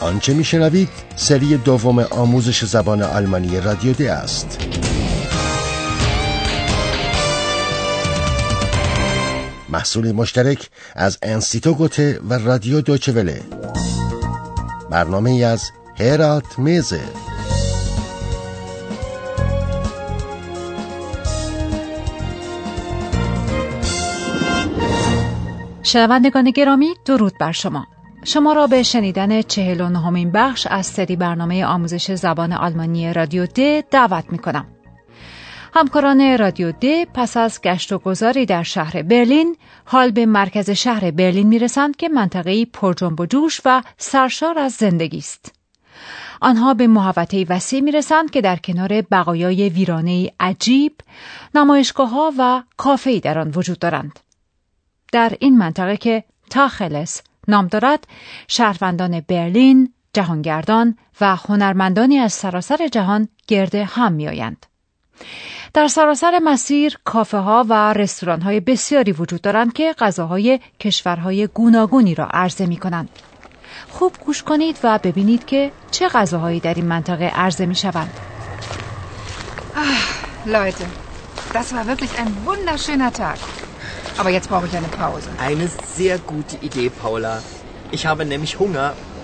آنچه میشنوید سری دوم آموزش زبان آلمانی رادیو د است. محصول مشترک از انستیتو گوته و رادیو دویچه وله. برنامه ای از هرالد میزه. شنوندگان گرامی، درود بر شما. شما را به شنیدن 49مین بخش از سری برنامه آموزش زبان آلمانی رادیو د دعوت می‌کنم. همکاران رادیو د پس از گشت و گذاری در شهر برلین حال به مرکز شهر برلین میرسند که منطقه‌ای پرجنب و جوش و سرشار از زندگی است. آنها به محوطه‌ای وسیع میرسند که در کنار بقایای ویرانه‌ای عجیب، نمایشگاه‌ها و کافه‌ای در آن وجود دارند. در این منطقه که تاخلس نام دارد، شهروندان برلین، جهانگردان و هنرمندانی از سراسر جهان گرد هم می‌آیند. در سراسر مسیر کافه ها و رستوران های بسیاری وجود دارند که غذاهای کشورهای گوناگونی را عرضه می کنند. خوب گوش کنید و ببینید که چه غذاهایی در این منطقه عرضه می شوند. Leute, das war wirklich ein wunderschöner Tag. Aber jetzt brauche ich eine Pause. Eine sehr gute Idee, Paula. Ich habe nämlich Hunger.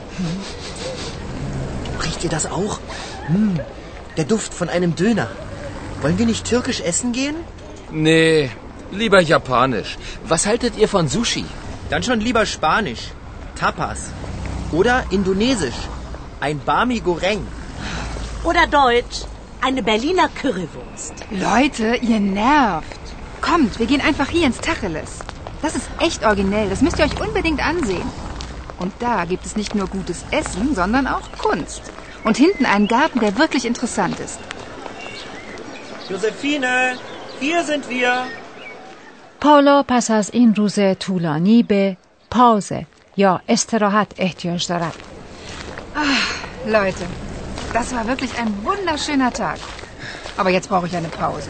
Riecht ihr das auch? Der Duft von einem Döner. Wollen wir nicht türkisch essen gehen? Nee, lieber japanisch. Was haltet ihr von Sushi? Dann schon lieber Spanisch. Tapas. Oder Indonesisch. Ein Bami Goreng. Oder Deutsch. Eine Berliner Currywurst. Leute, ihr nervt. Kommt, wir gehen einfach hier ins Tacheles. Das ist echt originell, das müsst ihr euch unbedingt ansehen. Und da gibt es nicht nur gutes Essen, sondern auch Kunst. Und hinten einen Garten, der wirklich interessant ist. Josephine, hier sind wir. پاولا پس از این روز طولانی به پاوزه یا استراحت احتیاج دارد. Leute, das war wirklich ein wunderschöner Tag. Aber jetzt brauche ich eine Pause.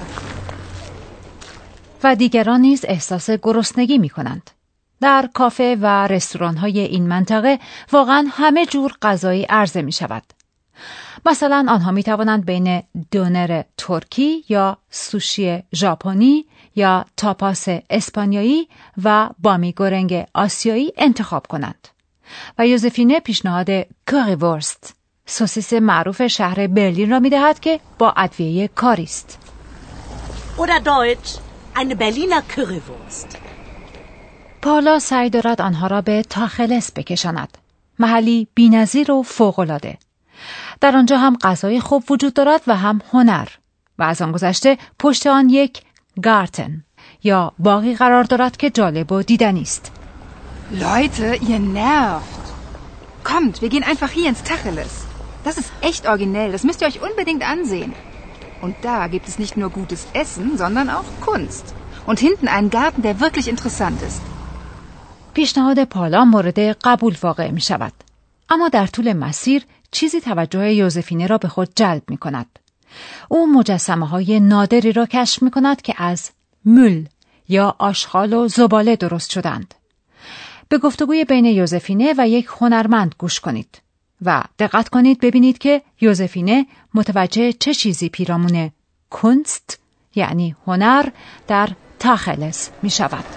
و دیگران نیز احساس گرسنگی می کنند. در کافه و رستوران‌های این منطقه واقعاً همه جور غذایی عرضه می شود. مثلا آنها می توانند بین دونر ترکی یا سوشی ژاپنی یا تاپاس اسپانیایی و بامی گورنگ آسیایی انتخاب کنند. و یوزفینه پیشنهاد کوری‌ورست، سوسیس معروف شهر برلین را می دهد که با ادویه کاری است. Oder Deutsch. Eine Berliner Currywurst. پاولا سعی دارد آنها را به تاخلس بکشاند. محلی بی‌نظیر و فوق‌العاده. در آنجا هم غذای خوب وجود دارد و هم هنر. و از آن گذشته پشت آن یک گارتن یا باغی قرار دارد که جالب و دیدنی است. Leute, ihr nervt. Kommt, wir gehen einfach hier ins Tacheles. Das ist echt originell, das müsst ihr euch unbedingt ansehen. Und da gibt es nicht nur gutes Essen, sondern auch Kunst. Und hinten einen Garten, der wirklich interessant ist. پیشنهاد پاولا مورد قبول واقع می شود. اما در طول مسیر چیزی توجه یوزفینه را به خود جلب می کند. او مجسمه های نادری را کشف می کند که از مول یا آشغال و زباله درست شدند. به گفتگوی بین یوزفینه و یک هنرمند گوش کنید. و دقت کنید ببینید که یوزفینه متوجه چه چیزی پیرامون کنست یعنی هنر در تاخلس می شود.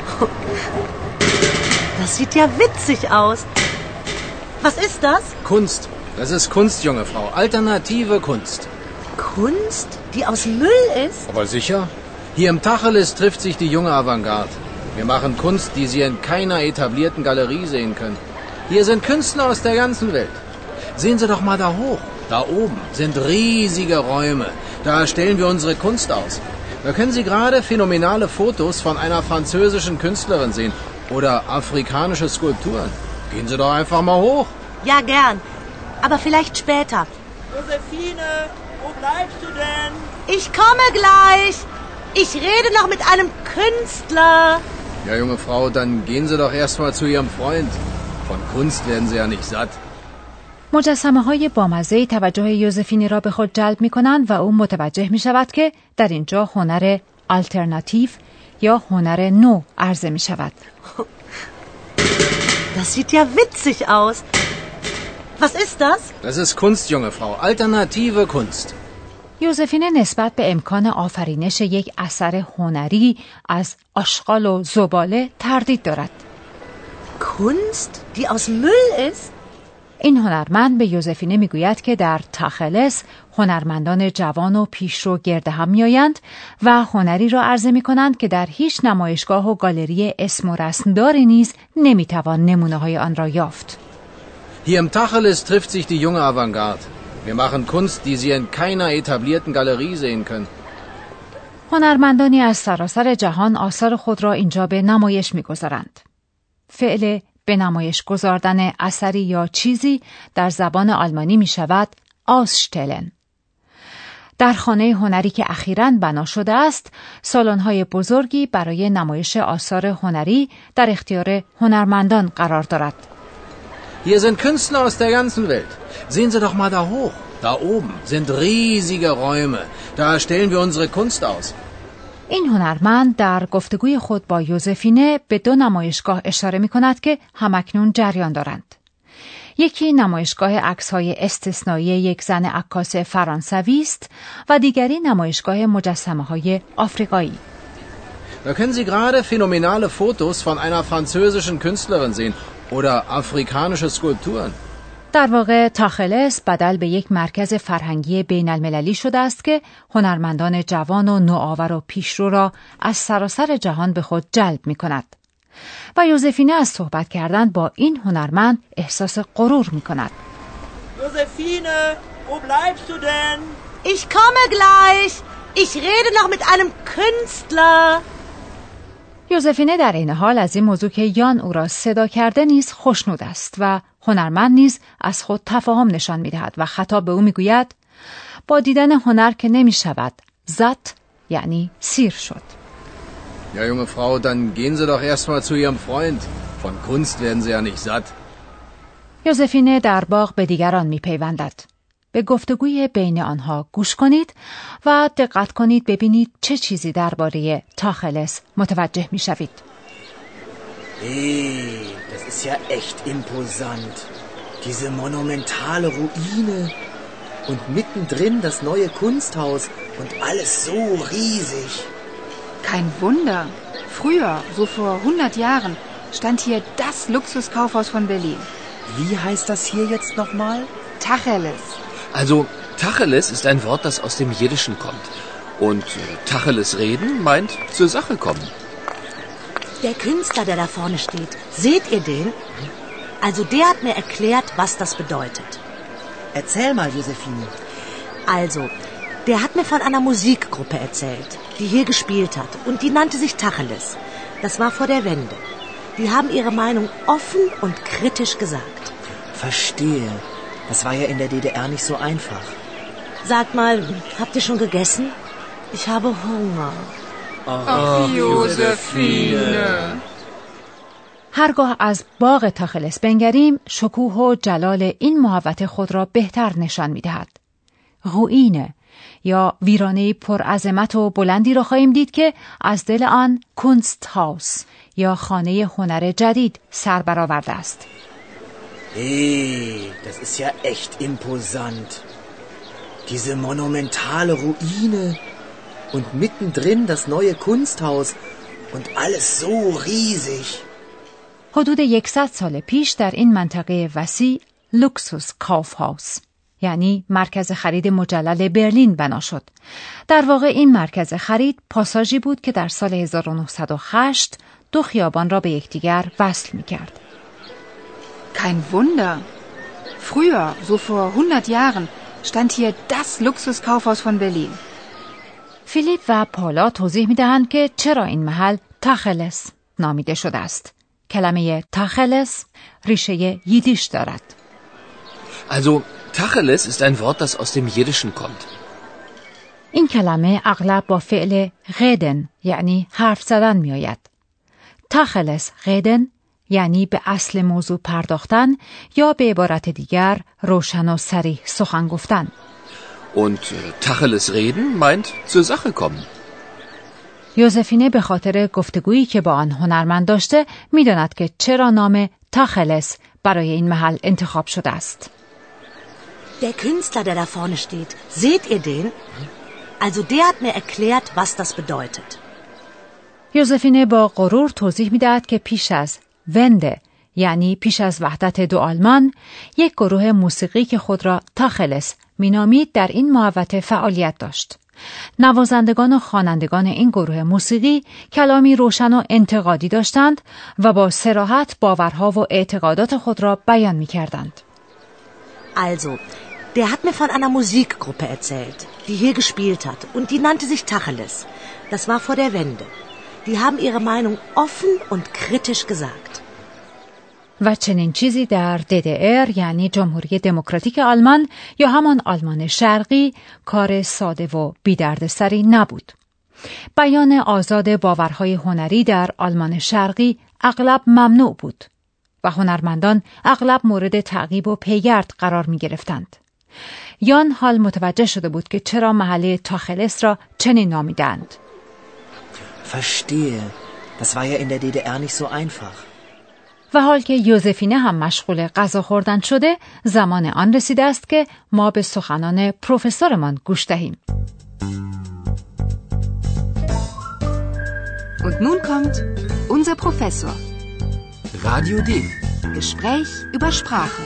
Das sieht ja witzig aus. Was ist das? Kunst. Das ist Kunst, junge Frau. Alternative Kunst. Kunst, die aus Müll ist? Aber sicher. Hier im Tacheles trifft sich die junge Avantgarde. Wir machen Kunst, die Sie in keiner etablierten Galerie sehen können. Hier sind Künstler aus der ganzen Welt. Sehen Sie doch mal da hoch. Da oben sind riesige Räume. Da stellen wir unsere Kunst aus. Da können Sie gerade phänomenale Fotos von einer französischen Künstlerin sehen. Oder afrikanische Skulpturen. Gehen Sie doch einfach mal hoch. Ja, gern. Aber vielleicht später. Josephine, wo bleibst du denn? Ich komme gleich. Ich rede noch mit einem Künstler. Ja, junge Frau, dann gehen Sie doch erst mal zu Ihrem Freund. Von Kunst werden Sie ja nicht satt. مجسمه های بامزه توجه یوزفینی را به خود جلب می کنند و او متوجه می شود که در اینجا هنر آلترناتیو یا هنر نو عرضه می شود. Das sieht ja witzig aus. Was ist das? Das ist Kunst, junge Frau. Alternative Kunst. یوزفینه نسبت به امکان آفرینش یک اثر هنری از آشغال و زباله تردید دارد. Kunst, die aus Müll ist? این هنرمند به یوزفینه میگوید که در تاخلس هنرمندان جوان و پیشرو گرد هم میآیند و هنری را عرضه میکنند که در هیچ نمایشگاه و گالری اسم و رسمداری نیز نمیتوان نمونه های آن را یافت. Hier im Tacheles trifft sich die junge Avantgarde. Wir machen Kunst, die Sie in keiner etablierten Galerie sehen können. هنرمندانی از سراسر جهان آثار خود را اینجا به نمایش میگذارند. فعل به نمایش گذاردن اثری یا چیزی در زبان آلمانی می شود ausstellen. در خانه هنری که اخیراً بنا شده است، سالن‌های بزرگی برای نمایش آثار هنری در اختیار هنرمندان قرار دارد. Hier sind Künstler aus der ganzen Welt. Sehen Sie doch mal da hoch. Da oben sind riesige Räume. Da stellen wir unsere Kunst aus. این هنرمند در گفتگوی خود با یوزفینه به دو نمایشگاه اشاره می کند که همکنون جریان دارند. یکی نمایشگاه عکس‌های استثنایی یک زن عکاس فرانسوی است و دیگری نمایشگاه مجسمه‌های آفریقایی. Da können Sie gerade phänomenale Fotos von einer französischen Künstlerin sehen oder afrikanische Skulpturen. در واقع تاخلس بدل به یک مرکز فرهنگی بین المللی شده است که هنرمندان جوان و نوآور و پیشرو را از سراسر جهان به خود جلب می کند. و یوزفینه از صحبت کردن با این هنرمند احساس غرور می کند. Josephine, wo bleibst du denn? Ich komme gleich. Ich rede noch mit einem Künstler. یوزفینه در این حال از این موضوع که یان او را صدا کرده نیز خوشنود است و هنرمند نیز از خود تفاهم نشان می دهد و خطاب به او می گوید با دیدن هنر که نمی شود زت یعنی سیر شد. Ja, junge Frau, dann gehen Sie doch erstmal zu Ihrem Freund. Von Kunst werden Sie ja nicht satt. یوزفینه در باغ به دیگران می پیوندد. به گفتگوی بین آنها گوش کنید و دقت کنید ببینید چه چیزی درباره تاخلس متوجه می شوید. Hey, das ist ja echt imposant. Diese monumentale Ruine und mittendrin das neue Kunsthaus und alles so riesig. Kein Wunder. Früher, so vor 100 Jahren, stand hier das Luxuskaufhaus von Berlin. Wie heißt das hier jetzt nochmal? Tacheles. Also, Tacheles ist ein Wort, das aus dem Jiddischen kommt. Und Tacheles reden meint zur Sache kommen. Der Künstler, der da vorne steht, seht ihr den? Also der hat mir erklärt, was das bedeutet. Erzähl mal, Josephine. Also, der hat mir von einer Musikgruppe erzählt, die hier gespielt hat. Und die nannte sich Tacheles. Das war vor der Wende. Die haben ihre Meinung offen und kritisch gesagt. Verstehe. Das war ja in der DDR nicht so einfach. Sagt mal, habt ihr schon gegessen? Ich habe Hunger. Ach, Josephine. هرگاه از باغ تاخلس بنگریم شکوه و جلال این محوطه خود را بهتر نشان می‌دهد. روئینه یا ویرانه پرعظمت و بلندی را خواهیم دید که از دل آن کنستهاوس یا خانه هنر جدید سر برآورده است. Hey, das ist ja echt imposant. Diese monumentale Ruine und mittendrin das neue Kunsthaus und alles so riesig. حدود 100 سال پیش در این منطقه وسیع لوکسوس کافهاوس یعنی مرکز خرید مجلل برلین بنا شد. در واقع این مرکز خرید پاساژی بود که در سال 1908 دو خیابان را به یکدیگر وصل می‌کرد. Kein Wunder. Früher, so vor 100 Jahren, stand hier das Luxuskaufhaus von Berlin. فیلیپ و پالا توضیح می‌دهند که چرا این محل تاخلس نامیده شده است. کلمه تاخلس ریشه ییدیش دارد. Also, Tacheles ist ein Wort, das aus dem Jiddischen kommt. این کلمه اغلب با فعل reden یعنی حرف زدن می آید. تاخلس reden یعنی به اصل موضوع پرداختن یا به عبارت دیگر روشن و صریح سخن گفتن. Und Tacheles reden meint zur Sache kommen. یوزفینه به خاطر گفتگویی که با آن هنرمند داشته می داند که چرا نام تاخلس برای این محل انتخاب شده است. Der Künstler, der da vorne steht, seht ihr den? Also der hat mir erklärt, was das bedeutet. یوزفینه با غرور توضیح می‌دهد که پیش از ونده، یعنی پیش از وحدت دو آلمان، یک گروه موسیقی که خود را تاخلس مینامید در این محوطه فعالیت داشت. نوازندگان و خوانندگان این گروه موسیقی کلامی روشن و انتقادی داشتند و با صراحت باورها و اعتقادات خود را بیان می‌کردند. Also, der hat mir von einer Musikgruppe erzählt, die hier gespielt hat und die nannte sich Tacheles. Das war vor der Wende. Die haben ihre Meinung offen und kritisch gesagt. و چنین چیزی در DDR یعنی جمهوری دموکراتیک آلمان یا همان آلمان شرقی کار ساده و بی‌دردسری نبود. بیان آزاد باورهای هنری در آلمان شرقی اغلب ممنوع بود و هنرمندان اغلب مورد تعقیب و پیگرد قرار می گرفتند. یان حال متوجه شده بود که چرا محله تاخلس را چنین نامیدند. Verstehe. Das war ja in der DDR nicht so einfach. و حال که یوزفینه هم مشغول غذا خوردن شده، زمان آن رسیده است که ما به سخنان پروفسورمان گوش دهیم. Und nun kommt unser Professor. Radio D. Gespräch über Sprache.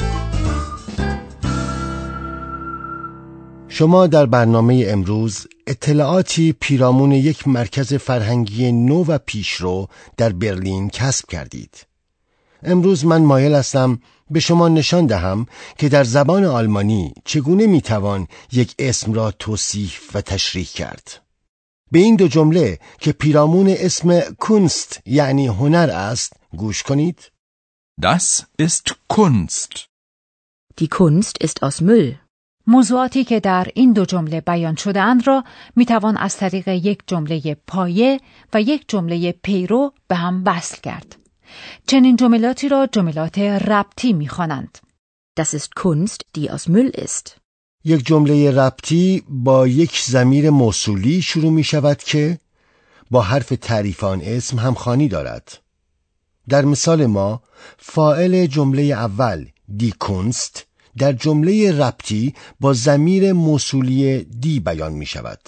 شما در برنامه امروز اطلاعاتی پیرامون یک مرکز فرهنگی نو و پیشرو در برلین کسب کردید. امروز من مایل هستم به شما نشان دهم که در زبان آلمانی چگونه میتوان یک اسم را توصیف و تشریح کرد. به این دو جمله که پیرامون اسم کنست یعنی هنر است گوش کنید. Das ist Kunst. Die Kunst ist aus Müll. موضوعاتی که در این دو جمله بیان شده اند را میتوان از طریق یک جمله پایه و یک جمله پیرو به هم وصل کرد. چنین جملاتی را جملات ربطی می‌خوانند. Das ist Kunst, die aus Müll ist. یک جمله ربطی با یک ضمیر موصولی شروع می شود که با حرف تعریف آن اسم همخوانی دارد. در مثال ما فاعل جمله اول دی کنست در جمله ربطی با ضمیر موصولی دی بیان می شود.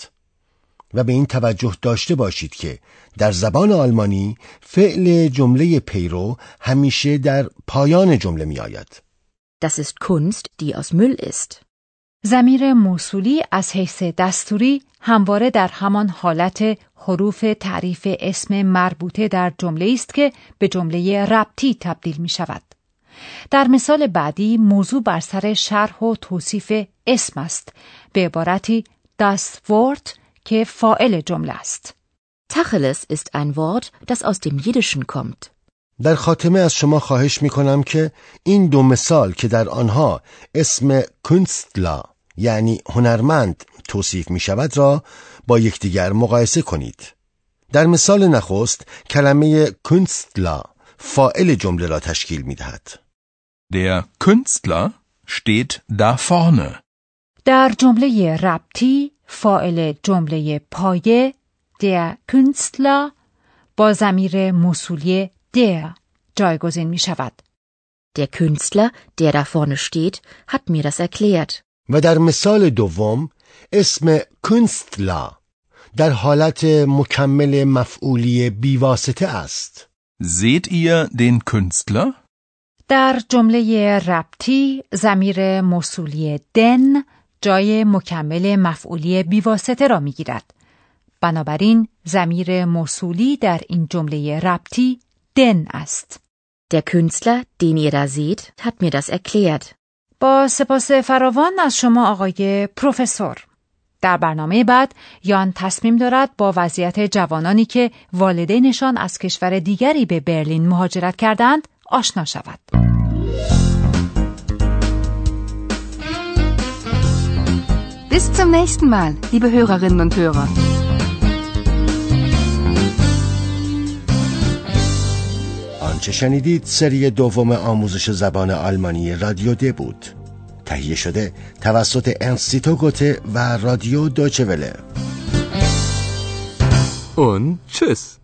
و به این توجه داشته باشید که در زبان آلمانی فعل جمله پیرو همیشه در پایان جمله می آید. Das ist Kunst, die aus Müll ist. ضمیر موصولی از حیث دستوری همواره در همان حالت حروف تعریف اسم مربوطه در جمله است که به جمله ربطی تبدیل می شود. در مثال بعدی موضوع بر سر شرح و توصیف اسم است، به عبارتی das Wort که فاعل جمله است. Tacheles ist ein Wort, das aus dem Jiddischen kommt. در خاتمه از شما خواهش می کنم که این دو مثال که در آنها اسم کünstler یعنی هنرمند توصیف می شود را با یکدیگر مقایسه کنید. در مثال نخست کلمه کünstler فاعل جمله را تشکیل می دهد. Der Künstler steht da vorne. در جمله ربطی فاعل جمله پایه der Künstler با ضمیر موصولی der جایگزین می شود. Der Künstler, der da vorne steht, hat mir das erklärt. و در مثال دوم اسم Künstler در حالت مکمل مفعولی بیواسطه است. Seht ihr den Künstler? در جمله ربطی ضمیر موصولی den جای مکمل مفعولی بیواسطه را می گیرد. بنابراین ضمیر موصولی در این جمله ربطی den است. Der Künstler, den ihr da seht, hat mir das erklärt. با سپاس فراوان از شما آقای پروفسور. در برنامه بعد یان تصمیم دارد با وضعیت جوانانی که والدینشان از کشور دیگری به برلین مهاجرت کردند آشنا شود. Bis zum nächsten Mal, liebe Hörerinnen und Hörer. آنچه شنیدید سری دوم آموزش زبان آلمانی رادیو د بود. تهیه شده توسط انستیتو گوته و رادیو دویچه وله. Und tschüss.